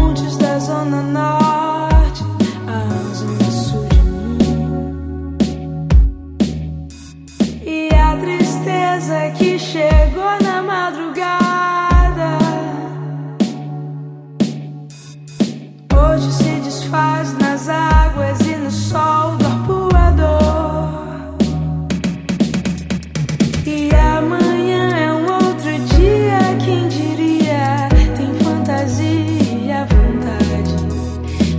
pontes da Zona Norte, a Zona Sul de mim. E a tristeza que chegou na madrugada hoje se desfaz nas águas e no sol do arpoador. E amanhã é um outro dia, quem diria? Tem fantasia à vontade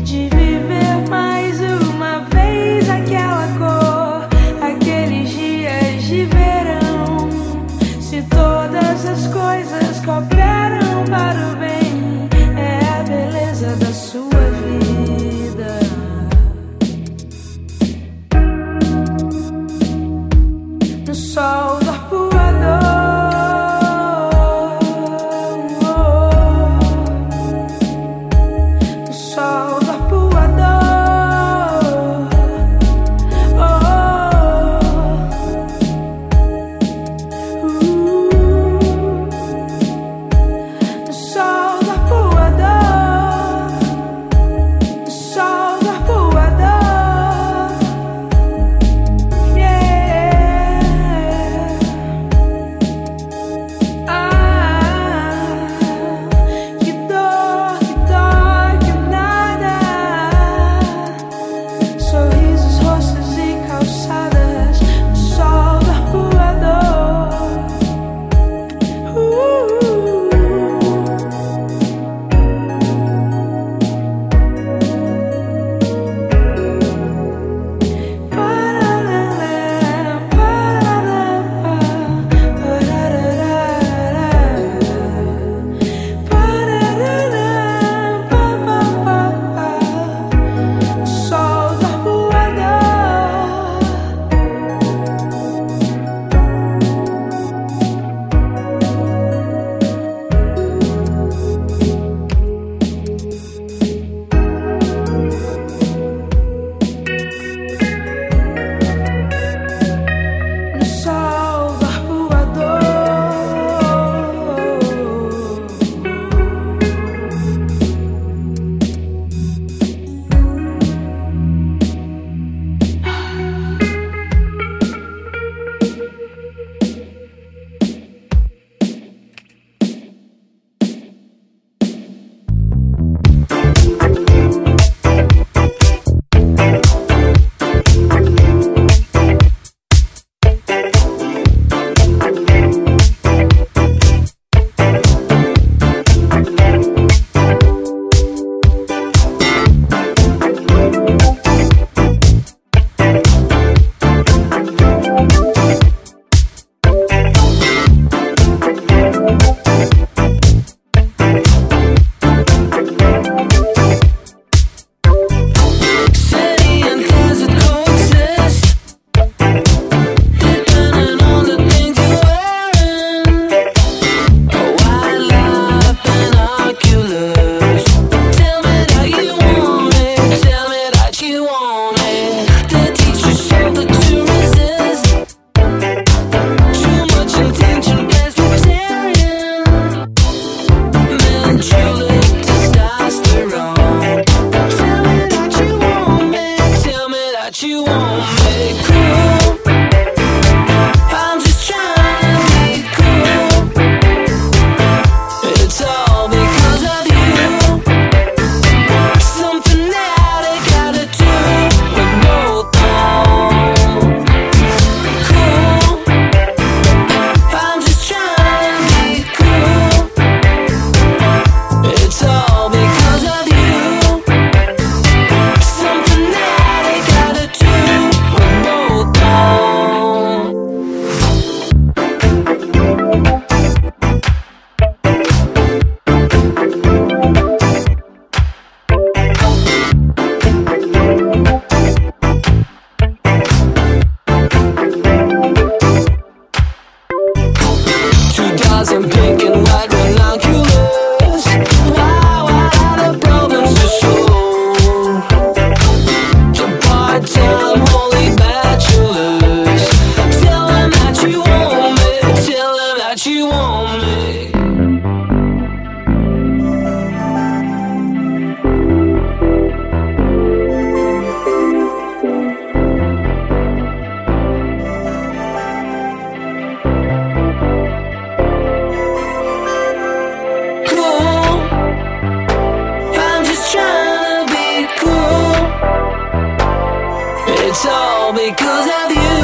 It's all because of you.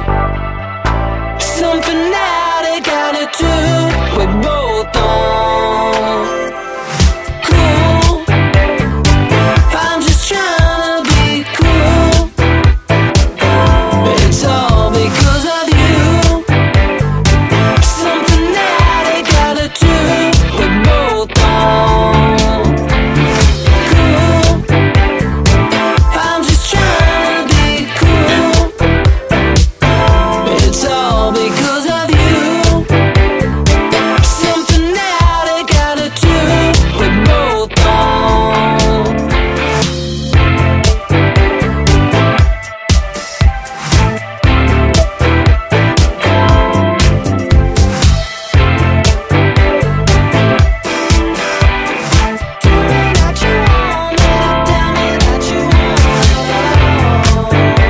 Some fanatic attitude we both on. Cool. I'm just trying to be cool. It's all because of you. Some fanatic attitude we both on. Cool. I'm just trying to be cool. It's all because of you. Some fanatic attitude we both on. Tell me that you want it. Tell me that you want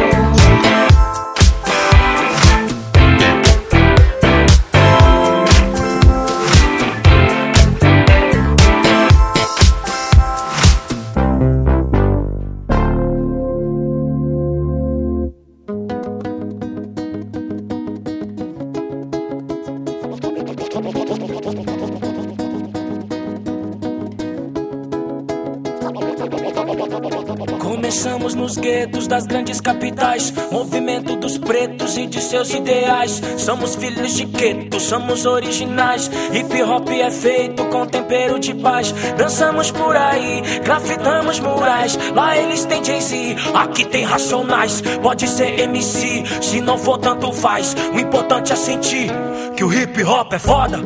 Começamos nos guetos das grandes capitais, movimento dos pretos e de seus ideais. Somos filhos de gueto, somos originais. Hip hop é feito com tempero de paz. Dançamos por aí, grafitamos murais. Lá eles têm Jay-Z, aqui tem Racionais. Pode ser MC, se não for tanto faz. O importante é sentir que o hip hop é foda.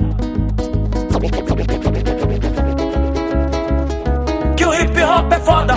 Que o hip hop é foda.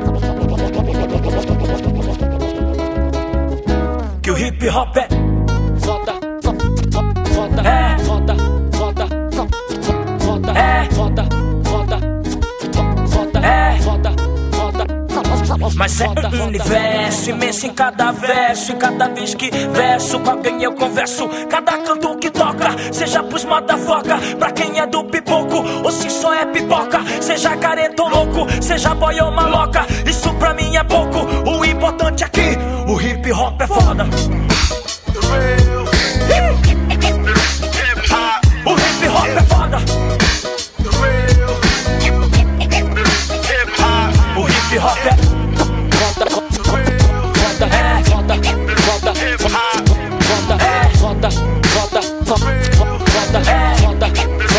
Que o hip hop é foda, foda, é foda, foda, foda, é foda, foda, foda, é foda, foda. Mas é um universo imenso em cada verso. E cada vez que verso com alguém eu converso. Cada canto que toca, seja pros motherfucker, pra quem é do pipoco, ou se só é pipoca. Seja careta ou louco, seja boy ou maloca, isso pra mim é pouco. O importante é que o hip hop é foda. O hip hop é foda. O hip hop é foda, foda, é foda, foda, foda, é foda, foda, foda, é foda,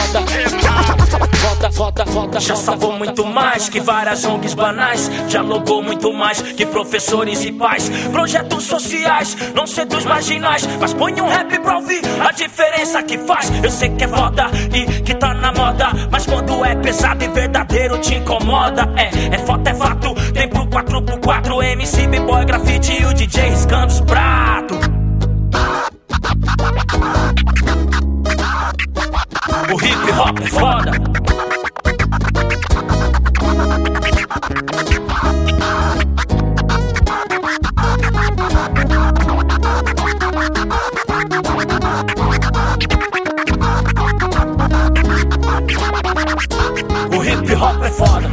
foda, foda. Já salvou muito mais que várias ONGs banais. Dialogou muito mais que professores e pais. Projetos sociais, não sei dos marginais, mas põe um rap pra ouvir a diferença que faz. Eu sei que é foda e que tá na moda, mas quando é pesado e verdadeiro te incomoda. É foda, é fato, tem pro 4x4, MC, B-boy, grafite e o DJ riscando os pratos. O hip hop é foda. O hip hop é foda.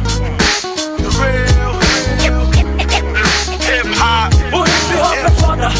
O hip hop é foda.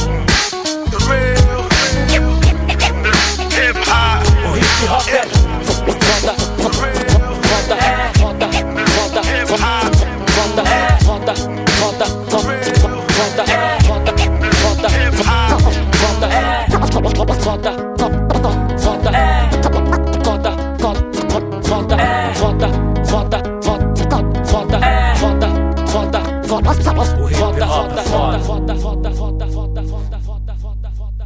O hip hop é foda, foda, é foda, foda, foda, é foda, foda, foda, é foda, foda, foda, é foda, foda, é foda, foda, é foda, foda, foda, é foda, foda, foda. O hip hop é foda, foda, foda, foda, foda, foda, foda, foda, foda, foda, foda.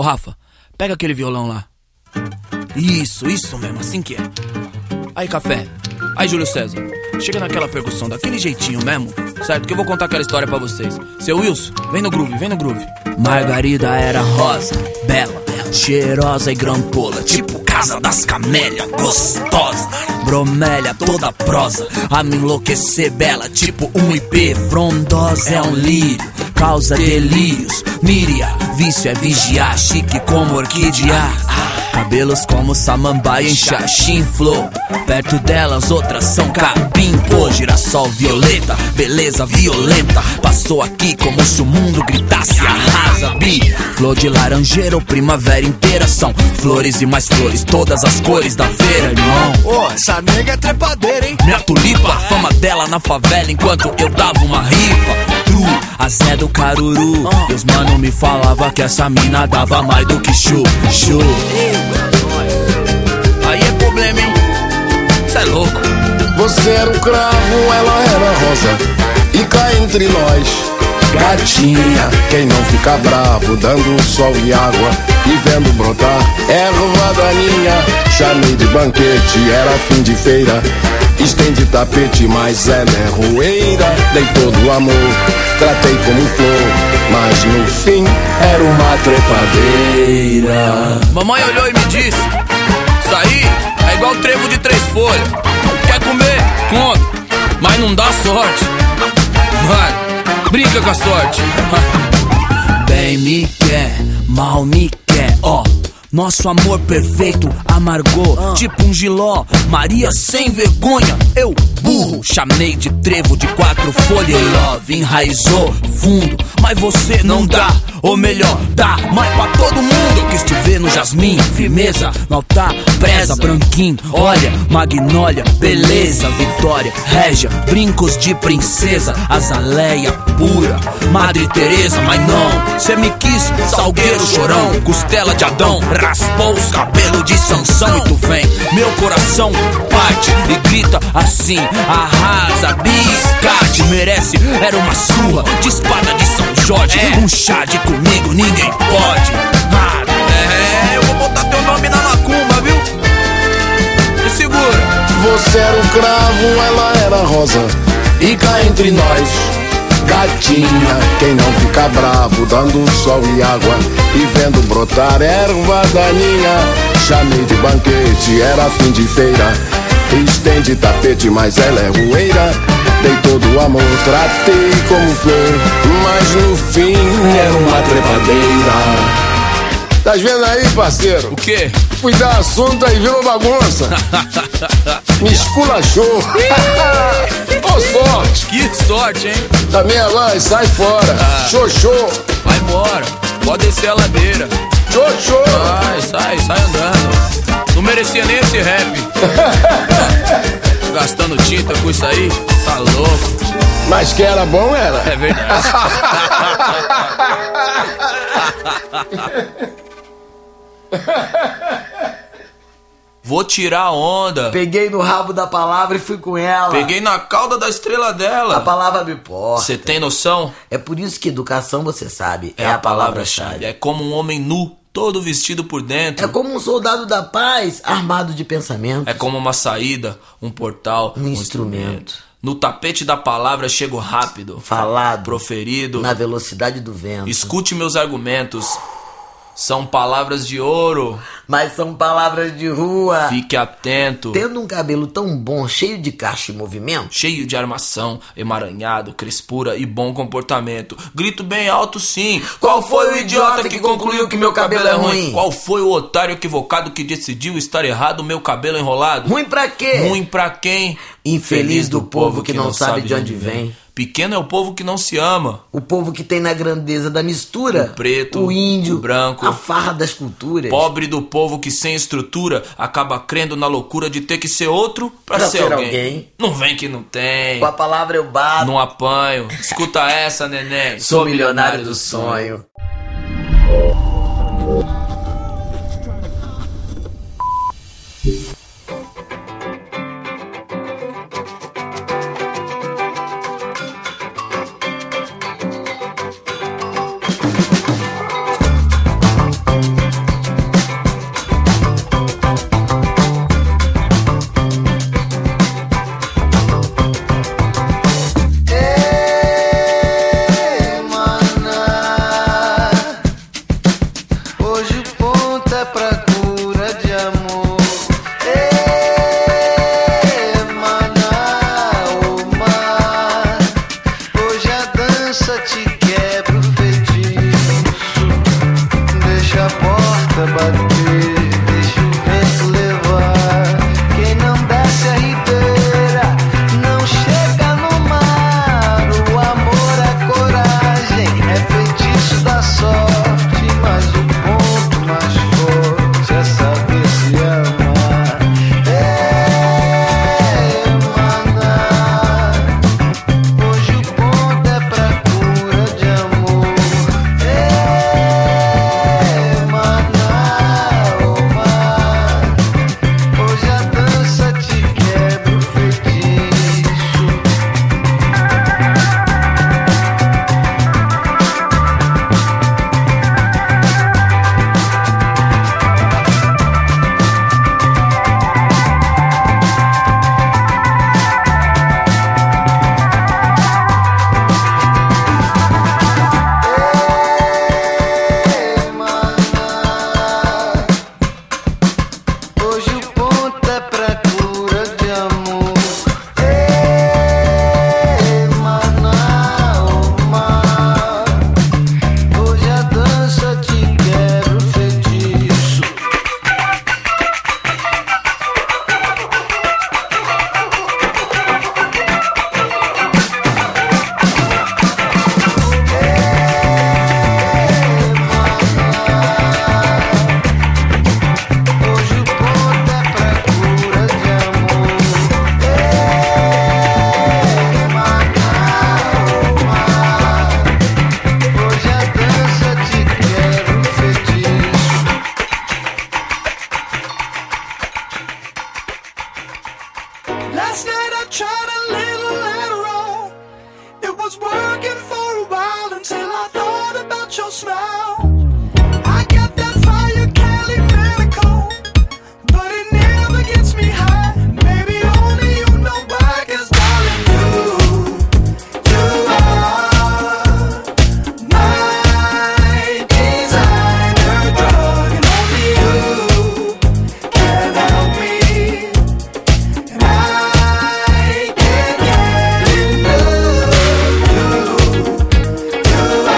Ô Rafa, pega aquele violão lá. Isso mesmo, assim que é. Aí, Café. Aí, Júlio César. Chega naquela percussão, daquele jeitinho mesmo, certo? Que eu vou contar aquela história pra vocês. Seu Wilson, vem no groove, vem no groove. Margarida era rosa, bela, cheirosa e grampola, tipo casa das camélias, gostosa. Bromélia toda prosa, a me enlouquecer bela, tipo um IP frondosa. É um lírio, causa delírios. Míria, vício é vigiar, chique como orquídea. Cabelos como samambaia em xaxim flor. Perto delas outras são capim, pô, girassol violeta, beleza violenta. Passou aqui como se o mundo gritasse arrasa, bi. Flor de laranjeira ou primavera inteira. São flores e mais flores, todas as cores da feira, irmão. Ô, essa nega é trepadeira, hein? Minha tulipa, a fama dela na favela enquanto eu dava uma ripa. A Zé do Caruru, e os mano me falava que essa mina dava mais do que chu. Aí é problema, hein? Cê é louco. Você era um cravo, ela era rosa. E cá entre nós, gatinha, quem não fica bravo, dando sol e água e vendo brotar erva daninha. Chamei de banquete, era fim de feira. Estende tapete, mas ela é roeira. Dei todo o amor, tratei como flor, mas no fim era uma trepadeira. Mamãe olhou e me disse: isso aí é igual trevo de 3 folhas. Quer comer? Come, mas não dá sorte. Vai, brinca com a sorte. Bem me quer, mal me quer, ó. Nosso amor perfeito amargou, tipo um giló, Maria sem vergonha, eu burro. Chamei de trevo de 4 folhas e love enraizou fundo, mas você não dá, ou melhor, dá mais pra todo mundo. Eu quis te ver no jasmim, firmeza, no altar, preza, branquinho, olha, magnólia, beleza, vitória, régia, brincos de princesa, azaleia pura, Madre Teresa, mas não, cê me quis, salgueiro chorão, costela de Adão, raspou os cabelos de Sansão. E tu vem, meu coração parte e grita assim: arrasa, biscate, merece, era uma surra de espada de São Jorge. Um chá de comigo, ninguém pode. Eu vou botar teu nome na macumba, viu? Me segura. Você era um cravo, ela era rosa. E cá entre nós, gatinha, quem não fica bravo, dando sol e água e vendo brotar erva daninha. Chamei de banquete, era fim de feira. Estende tapete, mas ela é roeira. Dei todo o amor, tratei como flor, mas no fim era uma trepadeira. Tá vendo aí, parceiro? O quê? Fui dar assunto aí, virou bagunça. Me esculachou. Ô, sorte. Que sorte, hein? Também lá e sai fora. Xoxô. Vai embora, pode descer a ladeira. Xoxô. Sai andando. Não merecia nem esse rap. Gastando tinta com isso aí, tá louco. Mas que era bom, era? É verdade. Vou tirar a onda. Peguei no rabo da palavra e fui com ela. Peguei na cauda da estrela dela. A palavra me importa. Você tem noção? É por isso que educação, você sabe, É a palavra-chave. É como um homem nu, todo vestido por dentro. É como um soldado da paz, armado de pensamento. É como uma saída, um portal, Um instrumento. No tapete da palavra chego rápido, Falado. proferido. Na velocidade do vento. Escute meus argumentos. São palavras de ouro. Mas são palavras de rua. Fique atento. Tendo um cabelo tão bom, cheio de cacho e movimento. Cheio de armação, emaranhado, crespura e bom comportamento. Grito bem alto sim. Qual foi o idiota que concluiu que meu cabelo é ruim? Qual foi o otário equivocado que decidiu estar errado meu cabelo enrolado? Ruim pra quê? Ruim pra quem? Infeliz do povo que não sabe de onde vem. Pequeno é o povo que não se ama. O povo que tem na grandeza da mistura. O preto, o índio, o branco. a farra das culturas. Pobre do povo que sem estrutura acaba crendo na loucura de ter que ser outro pra ser alguém. Não vem que não tem. Com a palavra eu bato. Não apanho. Escuta essa, neném. Sou milionário do sonho. Last night I tried a little Adderall. It was working for a while until I thought about your smile. I got that fire Cali medical, but it never gets me high. Maybe only you know why, 'cause darling, you are my designer drug, and only you can help me, and I can't get enough. You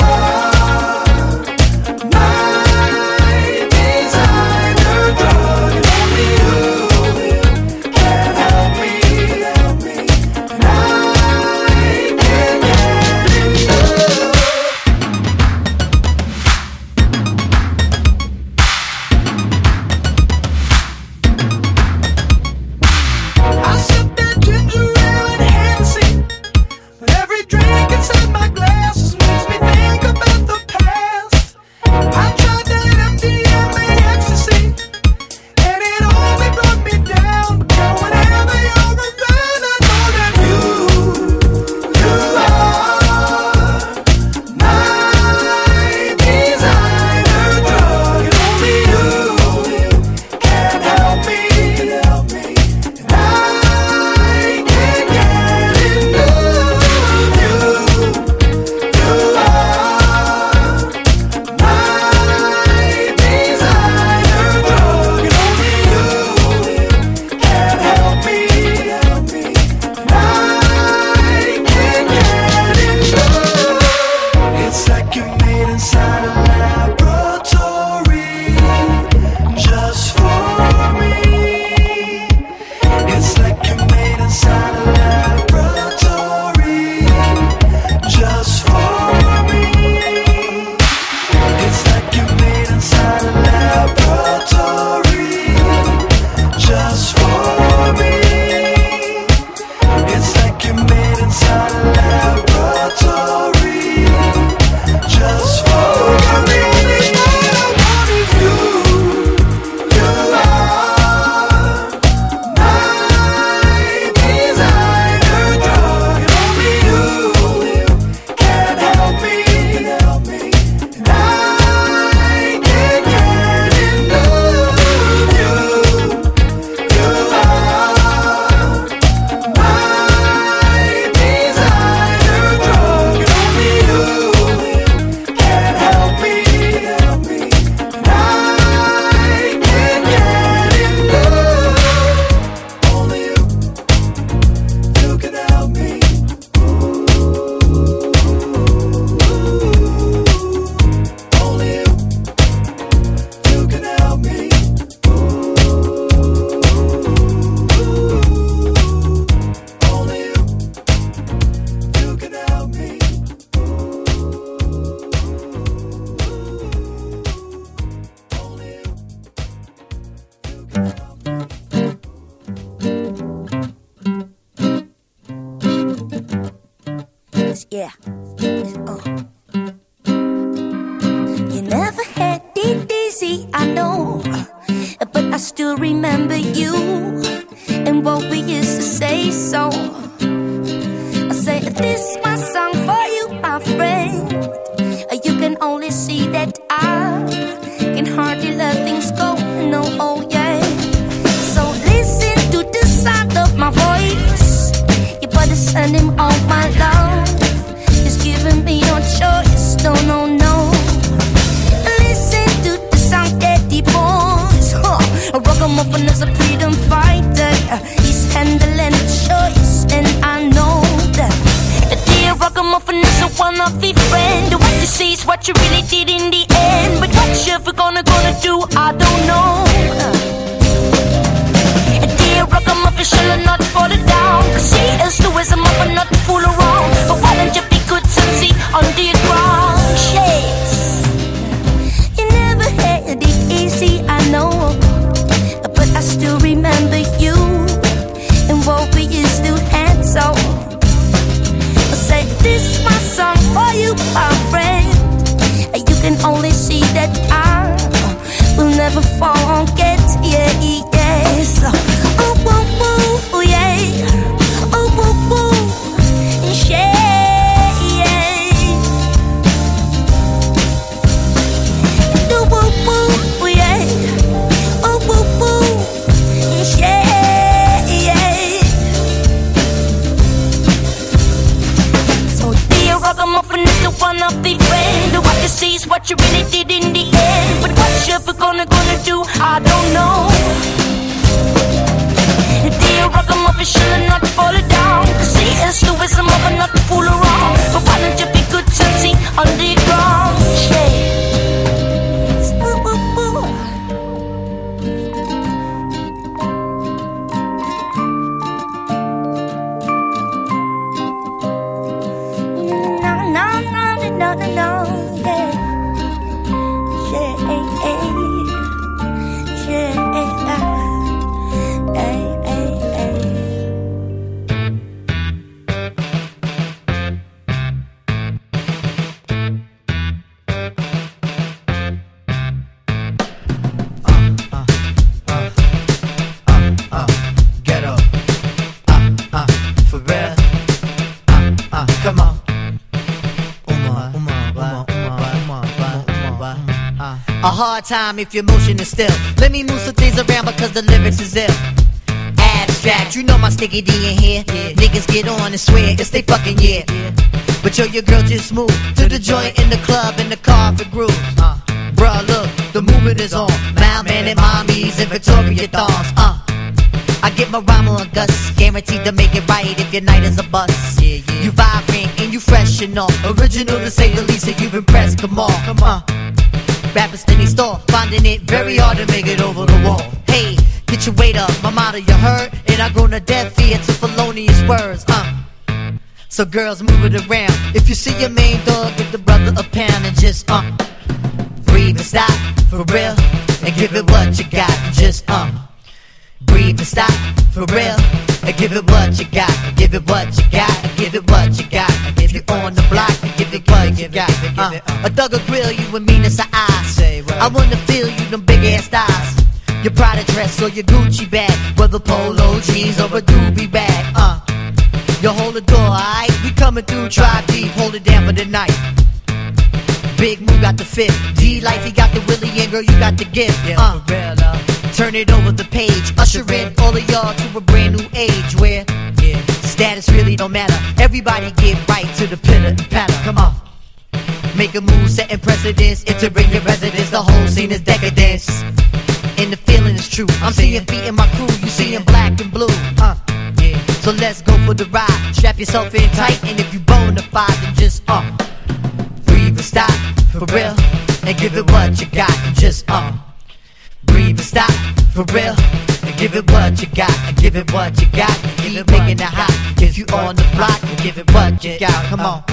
Yeah. You never had it easy, I know, but I still remember you and what we used to say. So I say, this is my song for you, my friend. You can only see that I can hardly let things go. No, oh yeah. So listen to the sound of my voice. You better send him all my love. He's giving me no choice. No, no, no. Listen to the sound that he pours. A ragamuffin is a freedom fighter. He's handling the choice, and I know that. Dear ragamuffin is a one-of-a friend. What you see is what you really did in the end. But what you ever gonna do, I don't know. Dear ragamuffin shall not fall down, 'cause he is the wisdom of a not to fool around. But why don't you be good and see under your ground? Yes. You never had it easy, I know, but I still remember you and what we used to have. So I say, this is my song for you, my friend. You can only see that I will never forget. Yeah, yes. Oh, oh, oh, yeah. to see is what you really did in the end. But what you ever gonna do, I don't know. Dear ragamuffin, should not fall it down. See, it's the wisdom of a not to fool around. But why don't you be good to see underground? Yeah. A hard time if your motion is still. Let me move some things around because the lyrics is ill. Abstract, you know my sticky D in here. Niggas get on and swear it's they fucking year. But yo, your girl just moved to the joint in the club in the car for grooves. Bruh, look, the movement is on. Mailman and mommies and Victoria thongs. I get my rhyme on Gus, guaranteed to make it right if your night is a bust. You vibrant and you fresh and all. Original to say the least, and you've impressed. Come on. Rappers in the store, finding it very hard to make it over the wall. Hey, get your weight up, my motto you heard, and I grown a deaf ear to felonious words. So girls, move it around. If you see your main dog, give the brother a pound and just breathe and stop for real, and give it what you got. Just breathe and stop for real, and give it what you got. Give it what you got. Give it what you got. If you on the block, give it what you got. A thug will grill you and mean it's an eye. I wanna feel you them big ass thighs. Your Prada dress or your Gucci bag, whether polo jeans or a doobie bag. You hold the door, alright? We coming through, try deep, hold it down for the night. Big Moo got the fit, D-Life, he got the Willie, and girl, you got the gift. Turn it over the page, usher in all of y'all to a brand new age where status really don't matter. Everybody get right to the pitter and patter. Come on. Make a move, setting precedence, entering your residence. The whole scene is decadence, and the feeling is true. I'm seeing beat in my crew, you seeing black and blue. So let's go for the ride. Strap yourself in tight, and if you bona fide, then just breathe and stop for real, and give it what you got. And just breathe and stop for real, and give it what you got. And give it what you got. Keep making it hot. If you on the block, and give it what you got. Come on.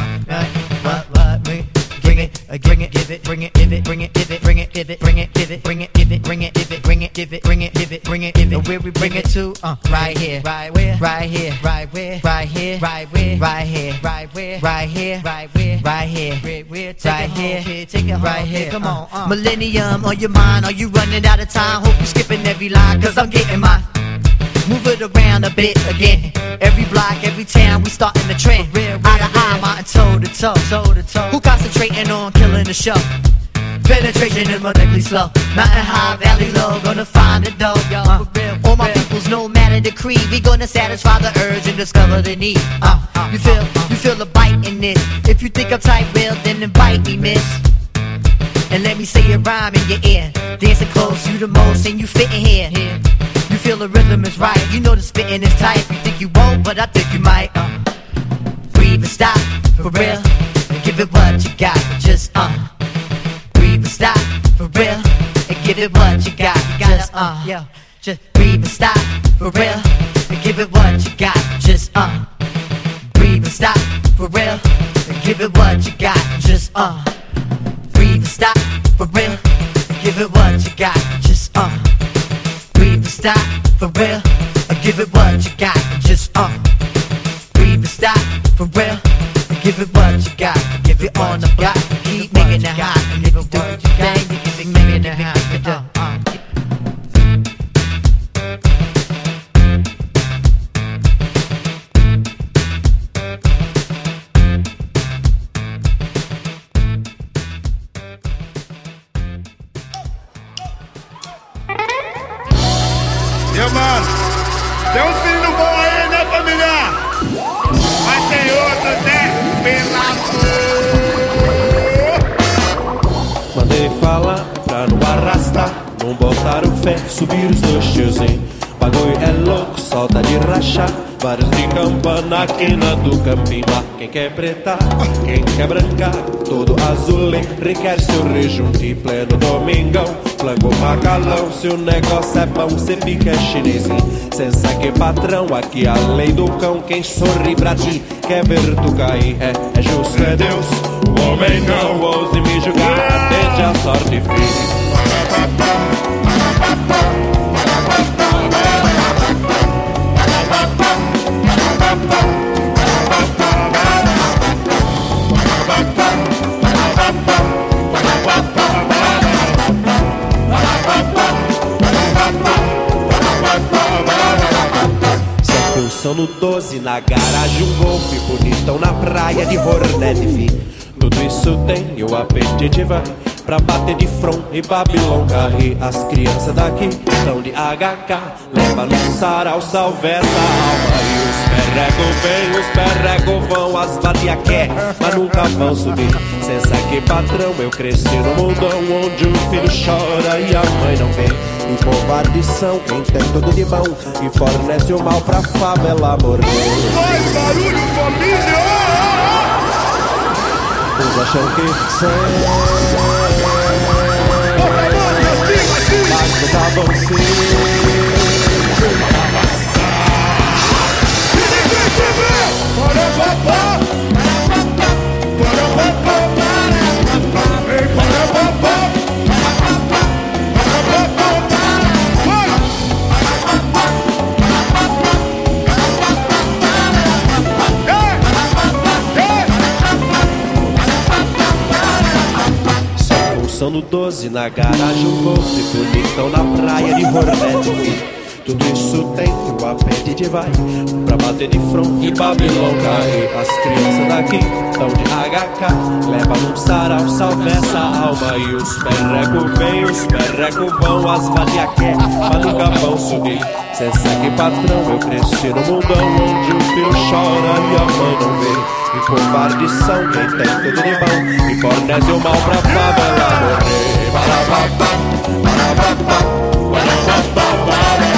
Bring it, give it, bring it, give it, bring it, give it, bring it, give it, bring it, give it, bring it, give it, bring it, give it, bring it, give it, bring it, give it, bring it, give it. Where we bring it to? Right here, right where, right here, right where, right here, right where, right here, right where, right here, right where, right here, right here, take it right here. Come on, Millennium on your mind? Are you running out of time? Hope you skipping every line, 'cause I'm getting mine. Move it around a bit again. Every block, every town, we starting the trend. Eye to eye, mountain toe to toe. Who concentrating on killing the show? Penetration is medically slow. Mountain high, valley low, gonna find the dough. All my peoples, no matter the creed, we gonna satisfy the urge and discover the need. You feel the bite in this. If you think I'm tight, well, then invite me, miss. And let me say a rhyme in your ear. Dancing close, you the most, and you fitting here. You feel the rhythm is right, you know the spitting is tight. You think you won't, but I think you might. Breathe and stop, for real, and give it what you got. Just breathe and stop, for real, and give it what you got. Just breathe and stop, for real, and give it what you got. Just breathe and stop, for real, and give it what you got. Just breathe and stop, for real, and give it what you got. Just breathe and stop, for real, and give it what you got. Just breathe and stop, for real, and give it what you got. Give it on the block, keep making it hot. And if you do what you got, you keep making it hot. Mano, tem uns filhos bons aí, né, família? Mas tem outros, né? Pela Então botaram fé, subir os dois tiozinhos. Bagulho é louco, solta de rachar. Vários de campa na quina do campinho. Quem quer preta, quem quer branca, todo azul requer seu rejunte em pleno domingão. Flango macalão, se o negócio é bom, cê fica chinesinho. Cê sabe patrão, aqui a lei do cão. Quem sorri pra ti, quer ver tu cair. É justo, é Deus, o homem não ouse me julgar. Atende a sorte, filho. São no 12, na garagem um golfe bonitão na praia de Hornet, fi. Tudo isso tem e o apetite vai pra bater de front e Babilão carre. As crianças daqui estão de HK, leva no sarau, salve essa alma. E os perrego vem, os perrego vão, as vadia quer, mas nunca vão subir. Cê sabe que patrão, eu cresci no mundão onde o filho chora e a mãe não vê. E covardição, quem tem tudo de bom e fornece o mal pra favela morrer. Faz barulho, família! Uns acham que são, mas não tá bom sim. E ninguém te vê! Para papá! Para papá! Ei, para papá! São no 12, na garagem um golfe bonitão na praia de Hornet. Tudo isso tem e o apetite vai pra bater de front e Babilão cair. As crianças daqui tão de HK, leva num sarau, salve essa alma. E os perrego vem, os perrego vão, as valia quer, mas nunca vão subir. Cê segue patrão, eu cresci no mundão onde o filho chora e a mãe não vê. E covardição, quem tem tudo de bom e fornece o mal pra favela morrer. Barababá, barababá, barababá, barababá.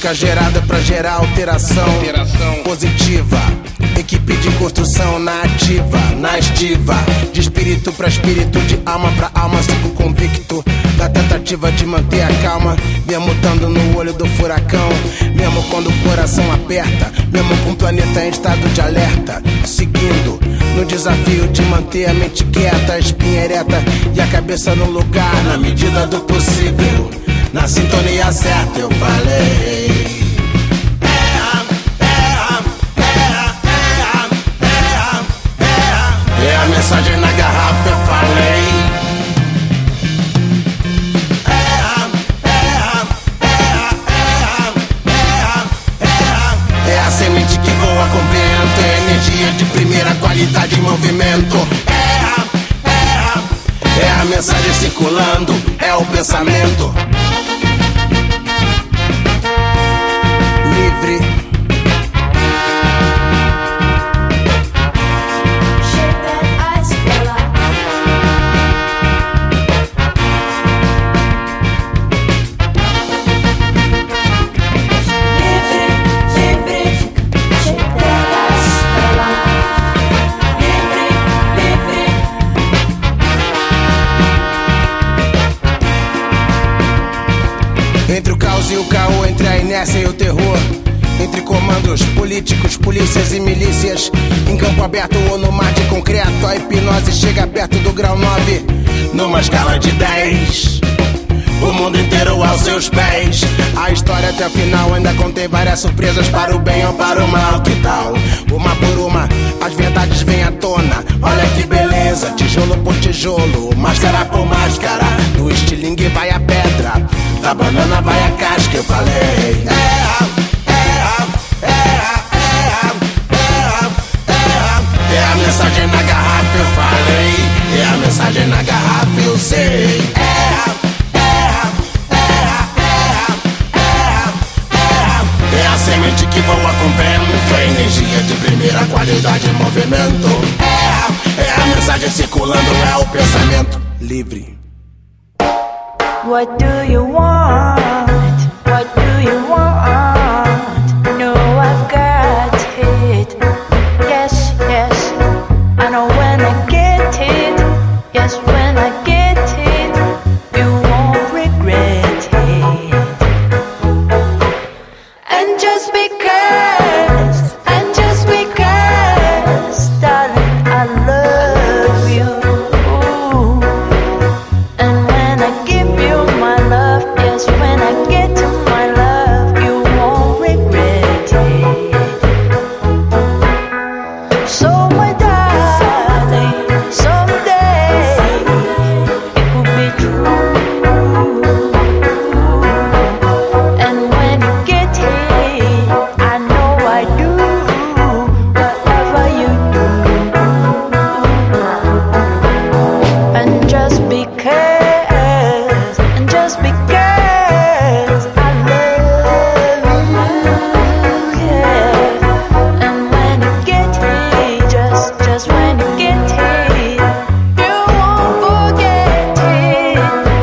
música gerada pra gerar alteração positiva. Equipe de construção na ativa, na estiva. De espírito pra espírito, de alma pra alma. Sigo convicto da tentativa de manter a calma, mesmo estando no olho do furacão, mesmo quando o coração aperta, mesmo com o planeta em estado de alerta. Seguindo no desafio de manter a mente quieta, a espinha ereta e a cabeça no lugar, na medida do possível, na sintonia certa. Eu falei: é a mensagem na garrafa. Eu falei: é a semente que voa com vento, é energia de primeira qualidade em movimento. É a mensagem circulando, é o pensamento livre. Entre o caos e o caô, entre a inércia e o terror, entre comandos políticos, polícias e milícias, em campo aberto ou no mar de concreto, a hipnose chega perto do grau 9, numa escala de 10. O mundo inteiro aos seus pés. A história até o final ainda contém várias surpresas, para o bem ou para o mal. Que tal? Uma por uma, as verdades vêm à tona. Olha que beleza, tijolo por tijolo, máscara por máscara. Do estilingue vai a pedra, da banana vai a casca. Eu falei: é a mensagem na garrafa. Eu falei: é a mensagem na garrafa. Eu sei. É a semente que voa com vento, é energia de primeira qualidade em movimento. É a mensagem circulando, é o pensamento livre. What do you want? What do you want? No, I've got it. Yes, yes, I know when I get it. Yes, when I get it, you won't regret it. And just because, darling, I love you. And when I give you my love, yes, when I get to my love, you won't regret it. So my darling, someday it could be true. And when you get it, I know I do whatever you do. And just because, I love you, yeah. And when you get it, just when you get it, you won't forget it.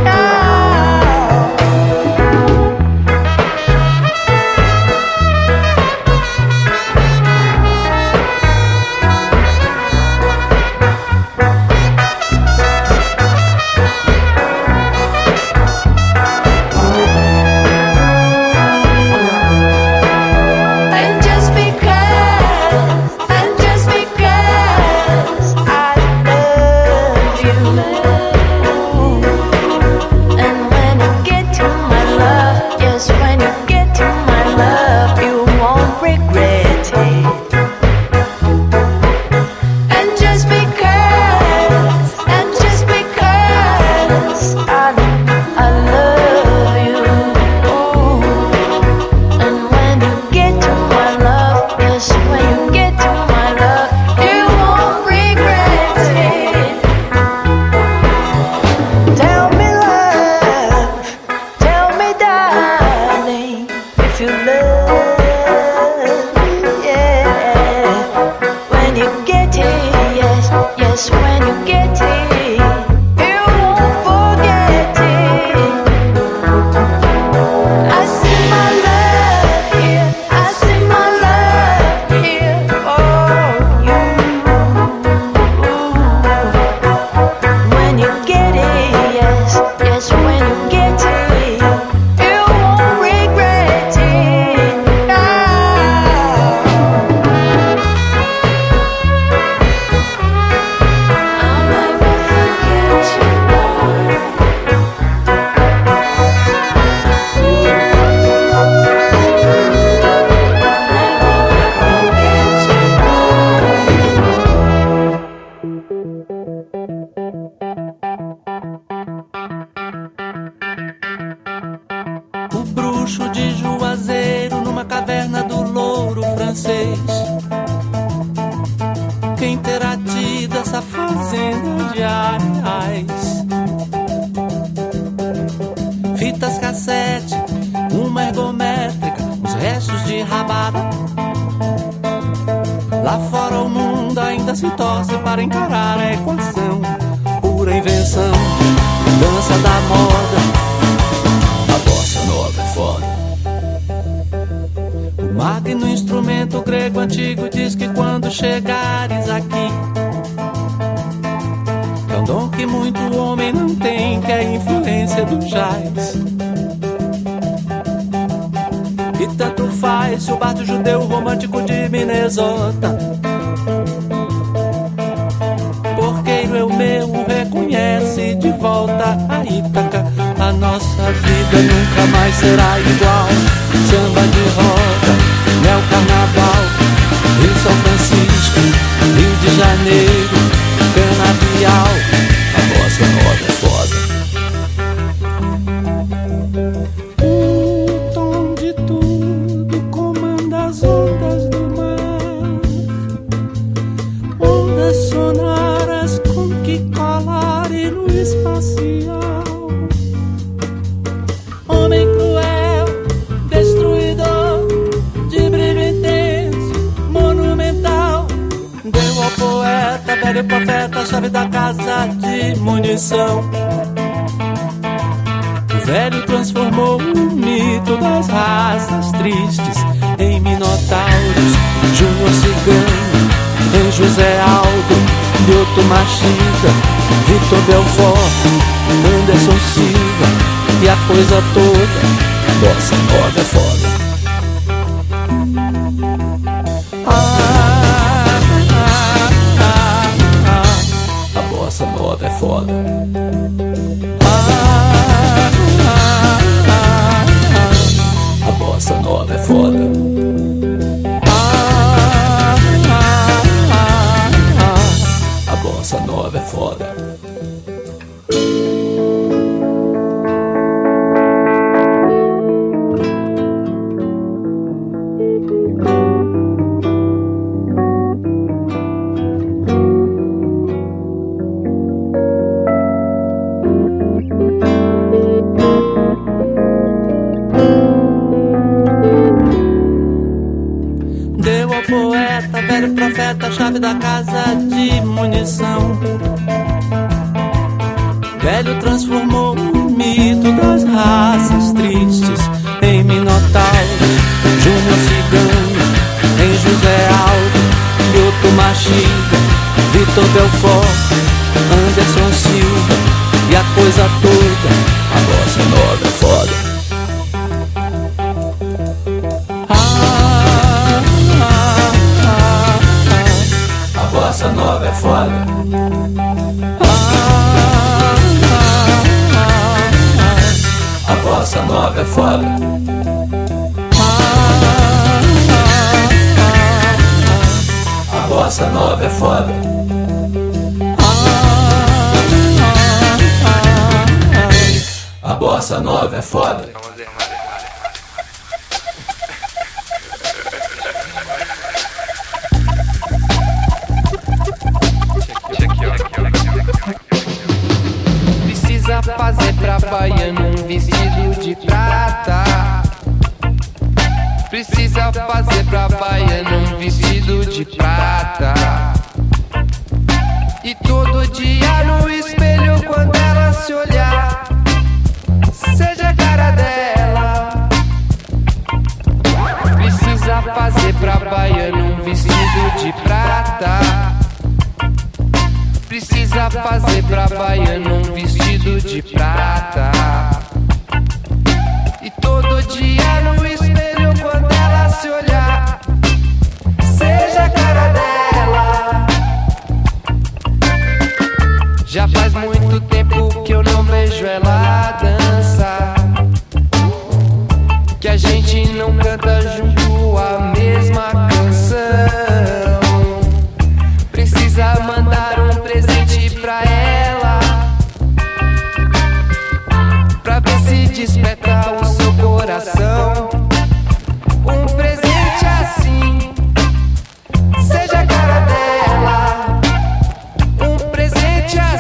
And just because, I love you. And when you get to my love, yes, when you get to my love, you won't regret it. And just because, I love you. And when you get to my love, yes, when you get to my love, you won't regret it. Tell me, love, tell me, darling, if you love me, yeah. When you get it, yes, yes, when you get it, you won't forget it. I see my love O bruxo de Juazeiro numa caverna do louro francês. Quem terá tido essa fazenda de areais? Fitas cassete, uma ergométrica, os restos de rabada. Lá fora o mundo ainda se torce para encarar a equação. Pura invenção, dança da moda. A bossa nova é foda. O magno instrumento grego antigo diz que quando chegares aqui, é um dom que muito homem não tem, que é a influência do jazz. E tanto faz se o bardo judeu romântico de Minnesota. Porqueiro é o meu, reconhece de volta a Ítaca. A nossa vida nunca mais será igual. Samba de roda, neo carnaval, Rio São Francisco, Rio de Janeiro, canavial. A bossa nova é foda. Sonoras com que colar e luz espacial. Homem cruel, destruidor, de brilho intenso, monumental. Deu ao poeta, velho profeta, a chave da casa de munição. O velho transformou o mito das raças tristes em minotauros. Júnior Cigano, em José Aldo, Lyoto Machida, Vitor Belfort, Anderson Silva e a coisa toda. Bossa nova é foda. A bossa nova é foda. A bossa nova é foda. A bossa nova é foda. Deu ao poeta, velho profeta, a chave da casa de munição. Velho transformou o mito das raças tristes em minotauros. Júnior Cigano, em José Aldo, Lyoto Machida, Vitor Belfort, Anderson Silva e a coisa toda. A bossa nova é foda. A bossa nova é foda. A bossa nova é foda. A bossa nova é foda. A bossa nova é foda. Precisa fazer pra baiano um vestido de prata. Precisa fazer pra baiano um vestido de prata. E todo dia no espelho quando ela se olhar, seja a cara dela. Precisa fazer pra baiano um vestido de prata. Precisa fazer pra baiano um vestido de prata. E todo dia no espelho quando ela se olhar, seja a cara dela. Já faz muito tempo que eu não vejo ela dançar, que a gente não canta junto a mesma canção. Precisa mandar um presente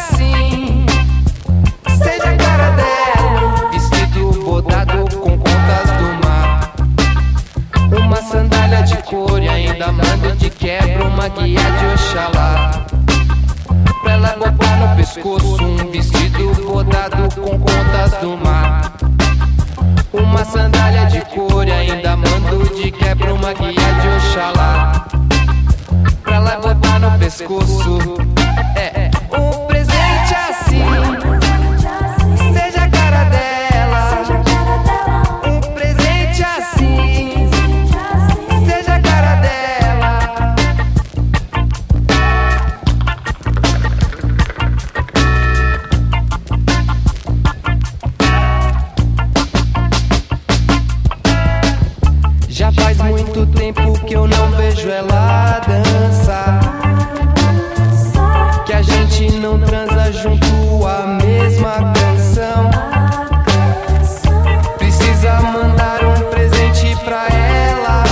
assim, seja a cara dela, vestido bordado com contas do mar, uma sandália de couro e ainda mando de quebra uma guia de Oxalá. Pra ela botar no pescoço um vestido bordado com contas do mar, uma sandália de couro e ainda mando de quebra uma guia de Oxalá. Pra ela botar no pescoço um presente assim, seja a cara dela, um presente assim, seja a cara dela. Já faz muito tempo que eu não vejo ela dançar, que a gente não transa junto a mesma canção. Precisa mandar um presente pra ela,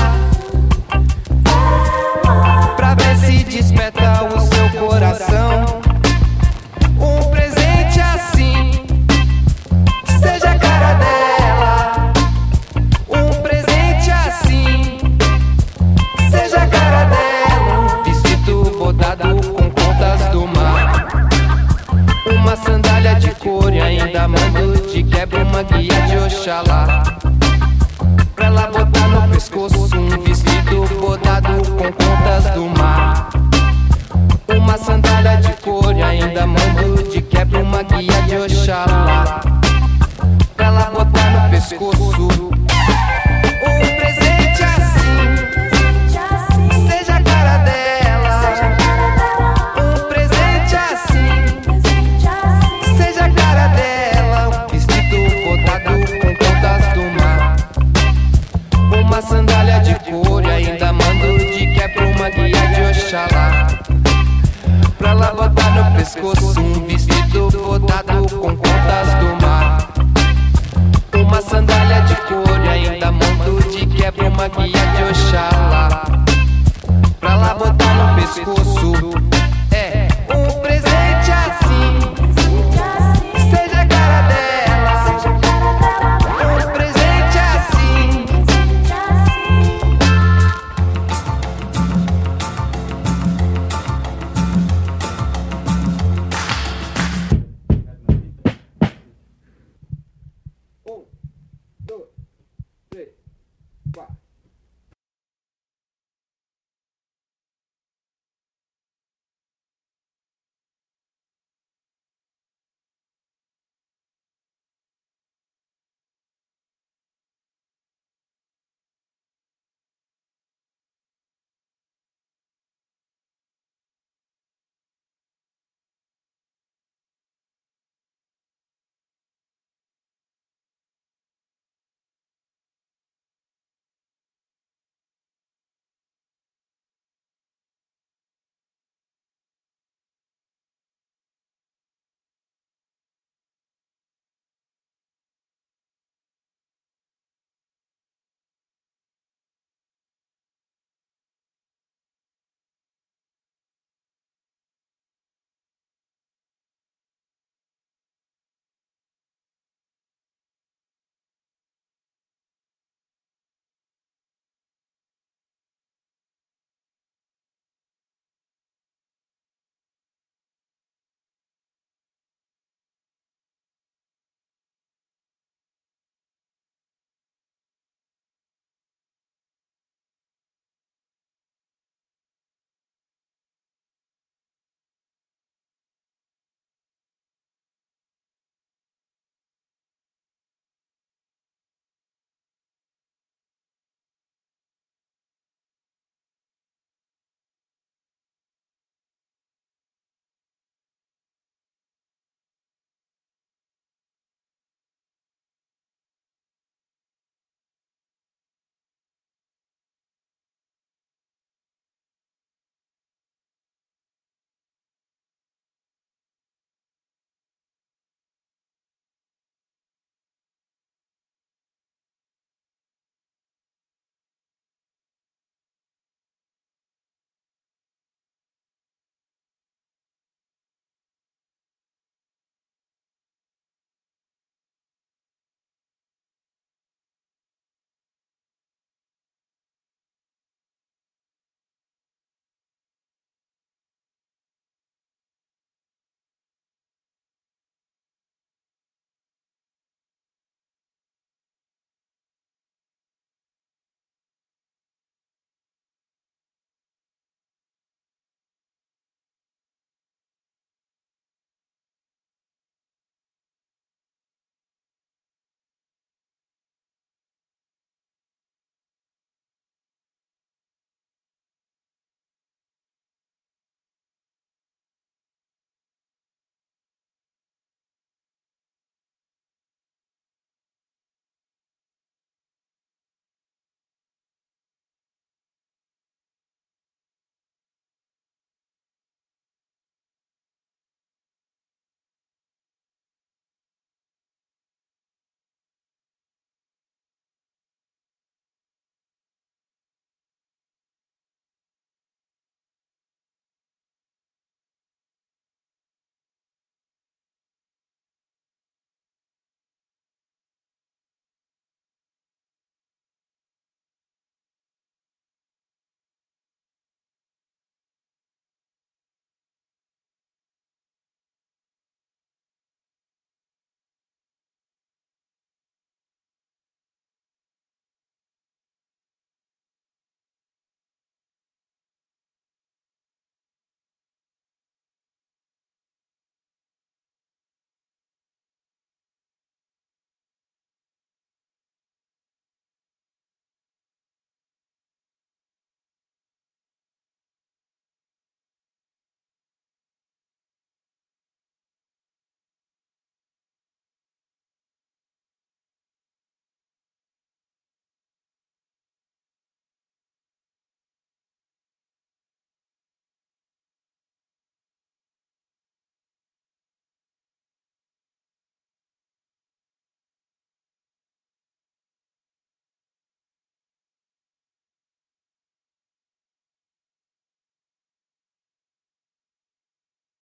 pra ver se desperta o seu coração. Um presente assim, seja a cara dela, um presente assim, seja a cara dela, vestido bordado com contas do mar, uma sandália de couro e ainda mando de quebra uma guia de Oxalá. Pra ela botar no pescoço um vestido bordado com contas do mar, uma sandália de couro e ainda mando de quebra uma guia de Oxalá. Pra ela botar no pescoço um presente assim, seja a cara dela, um presente assim, seja a cara dela, um vestido bordado com contas do mar, uma sandália de couro e ainda mando de quebra uma guia de Oxalá. Pra ela botar no pescoço um vestido bordado com contas do mar, uma sandália de couro e ainda mando de quebra uma guia de Oxalá. Pra ela botar no pescoço